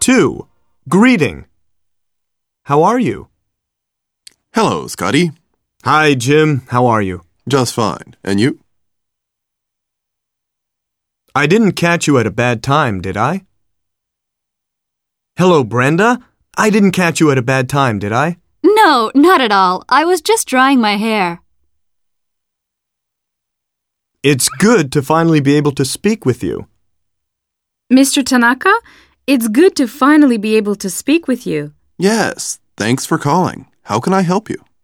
2. Greeting. How are you? Hello, Scotty. Hi, Jim. How are you? Just fine. And you? I didn't catch you at a bad time, did I? Hello, Brenda. I didn't catch you at a bad time, did I? No, not at all. I was just drying my hair. It's good to finally be able to speak with you. Mr. Tanaka, it's good to finally be able to speak with you. Yes, thanks for calling. How can I help you?